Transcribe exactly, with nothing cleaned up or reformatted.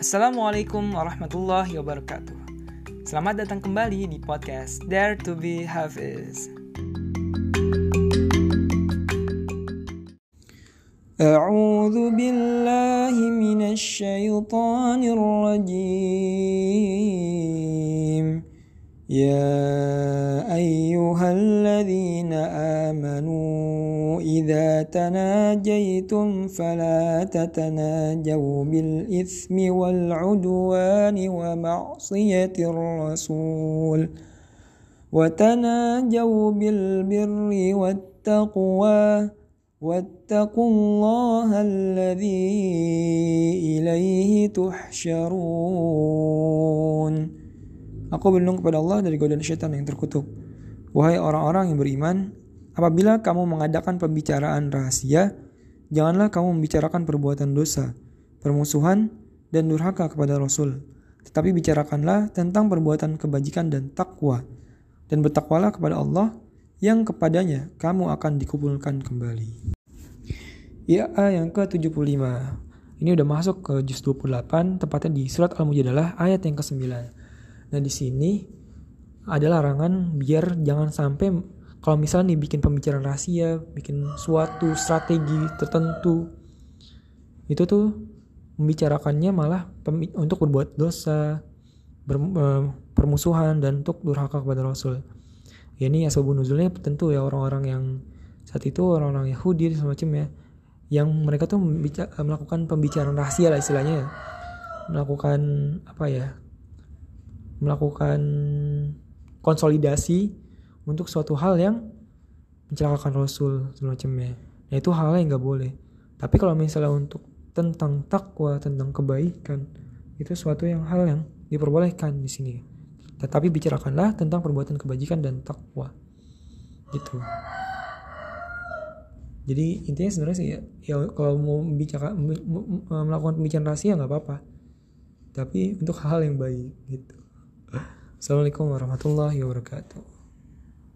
Assalamualaikum warahmatullahi wabarakatuh. Selamat datang kembali di podcast Dare to be Hafiz. A'udzu billahi minasy syaithanir rajim. Ya ayyuhalladzina amanu idza tanajaitum fala tatanajaw bil itsmi wal udwani wa ma'siyatir rasul wa tanajaw bil birri wat taqwa wattaqullaha alladzi ilaihi tuhsyarun. Aku berlindung kepada Allah dari godaan syaitan yang terkutuk. Wahai orang-orang yang beriman, apabila kamu mengadakan pembicaraan rahasia, janganlah kamu membicarakan perbuatan dosa, permusuhan, dan durhaka kepada Rasul. Tetapi bicarakanlah tentang perbuatan kebajikan dan takwa. Dan bertakwalah kepada Allah yang kepadanya kamu akan dikumpulkan kembali. Ya, yang ke tujuh puluh lima. Ini udah masuk ke juz dua puluh delapan, tepatnya di surat Al-Mujadalah ayat yang kesembilan. Nah di sini ada larangan biar jangan sampai kalau misalnya nih bikin pembicaraan rahasia, bikin suatu strategi tertentu, itu tuh membicarakannya malah pem- untuk berbuat dosa, ber- uh, permusuhan dan untuk durhaka kepada Rasul. Ya, ini asbabun nuzulnya tentu ya orang-orang yang saat itu orang-orang Yahudi semacamnya, yang mereka tuh membica- melakukan pembicaraan rahasia lah istilahnya, melakukan apa ya? melakukan konsolidasi untuk suatu hal yang mencelakakan Rasul semacamnya. Nah itu hal yang gak boleh. Tapi kalau misalnya untuk tentang takwa, tentang kebaikan, itu suatu yang hal yang diperbolehkan di sini. Tetapi bicarakanlah tentang perbuatan kebajikan dan takwa. Gitu. Jadi intinya sebenarnya sih ya, ya kalau mau bicara melakukan pembicaraan rahasia nggak apa-apa. Tapi untuk hal yang baik gitu. Assalamualaikum warahmatullahi wabarakatuh.